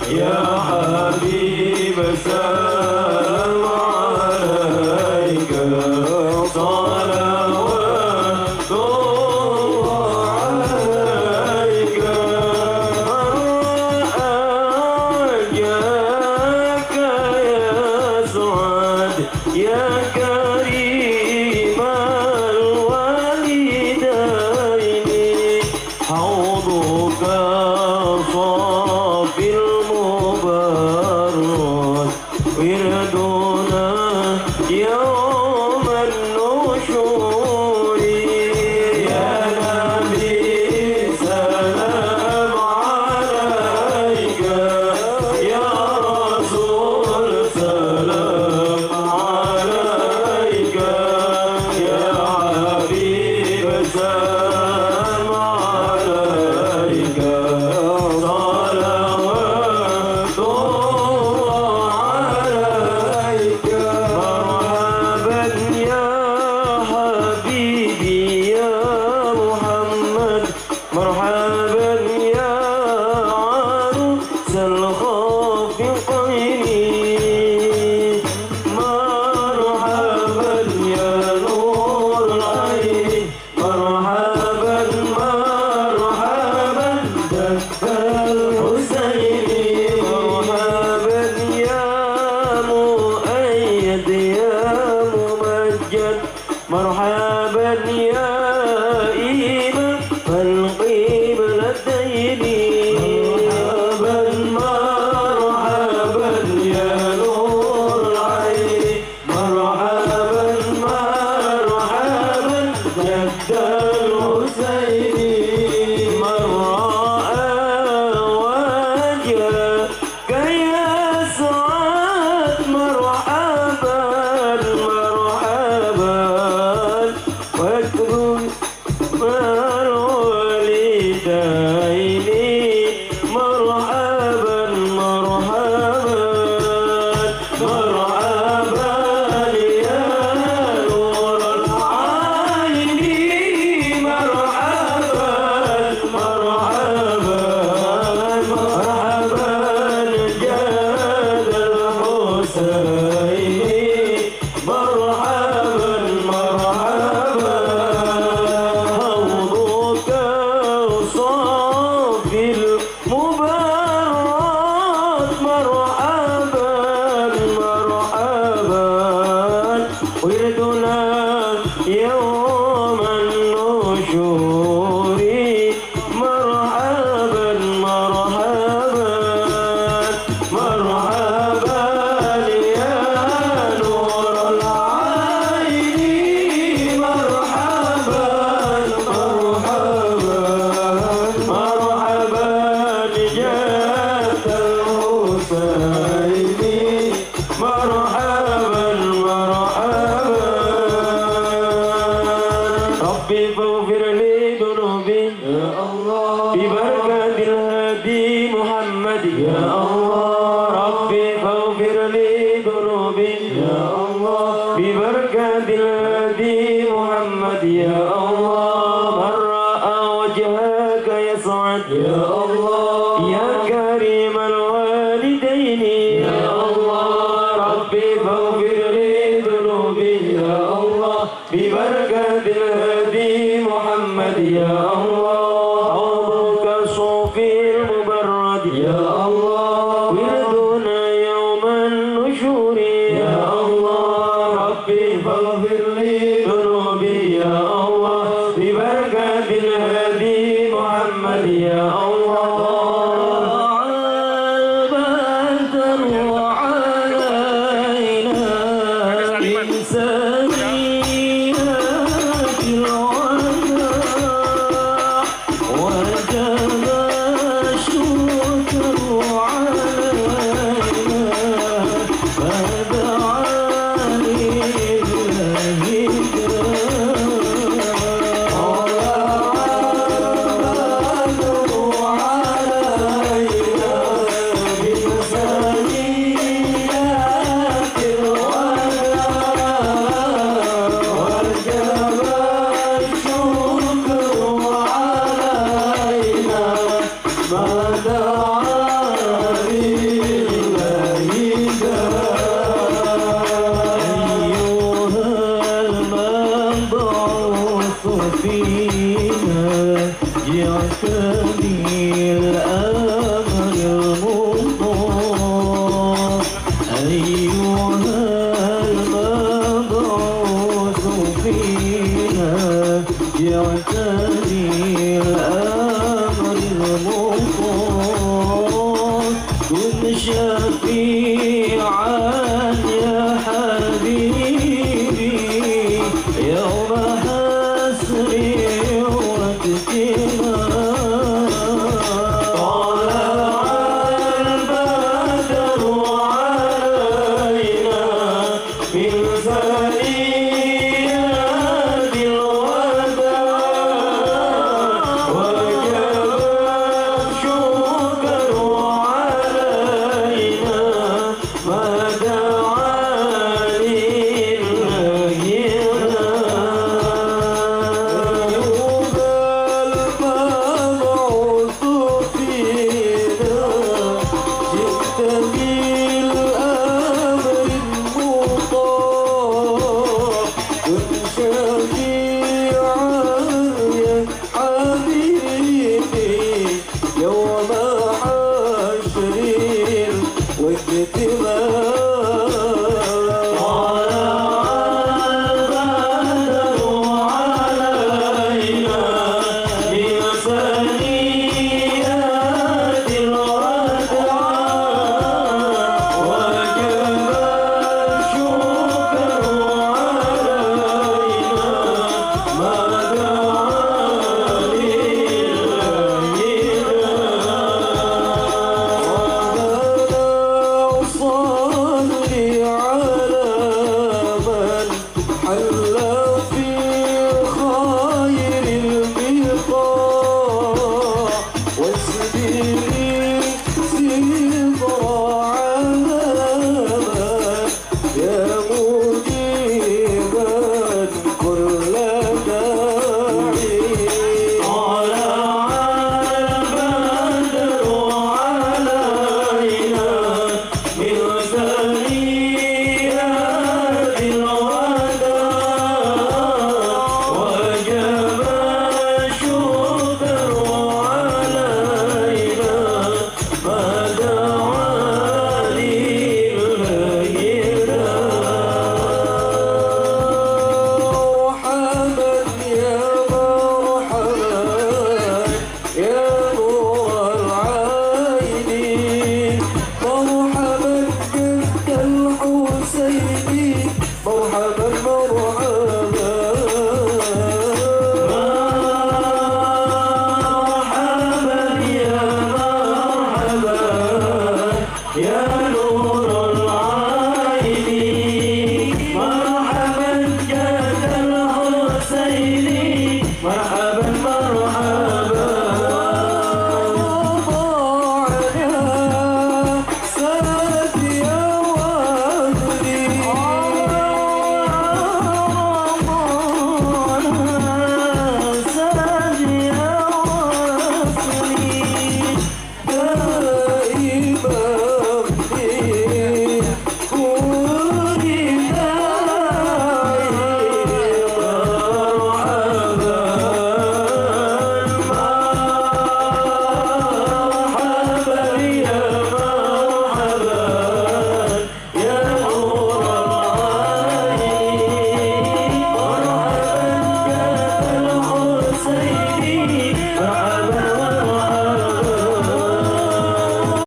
يا حبيب السلام عليك صلوات الله عليك أرجاك يا سعد يا كريم الوالدين حوضك صافي المبارك وردنا يوم النشور يا نبي سلام عليك يا رسول سلام عليك يا حبيب سلام عليك صلوات الله عليك مرحبا يا حبيبي يا محمد مرحبا يا عروس الخافقين مرحبا يا نور العين مرحبا مرحبا جد الحسين مرحبا يا مؤيد يا ممجد مرحبا يا إمام القبلتين مرحبا مرحبا يا نور العين مرحبا مرحبا جد الحسين من رأى وجهك يا سعد مرحبا مرحبا واكرم الوالدين مرحبا مرحبا مرحبا يا نور العين مرحبا مرحبا مرحبا جاد الحسين مرحبا مرحبا حوضك صافي المبارك مرحبا مرحبا وردنا يوم النشور مرحبا مرحبا مرحبا يا نور العين مرحبا مرحبا مرحبا جاد الحسين مرحبا مرحبا ربي فاغفر لي ذنوبي يا الله ببركة الهادي محمد يا الله ربي فاغفر لي ذنوبي يا الله ببركة الهادي محمد يا الله من رأى وجهك يسعد يا الله يا كريم الوالدين يا الله ربي فاغفر لي ذنوبي يا الله ببركة الهادي محمد يا الله حوضك صوفي المبرد يا الله ولدنا يوم النشور يا الله ربي فاغفر لي ذنوبي يا الله ببركة الهادي محمد يا الله بدر وعلينا من سبيلات الوداع وجب الشكر علينا كن شفيعا يا حبيبي يوم حسري Yeah.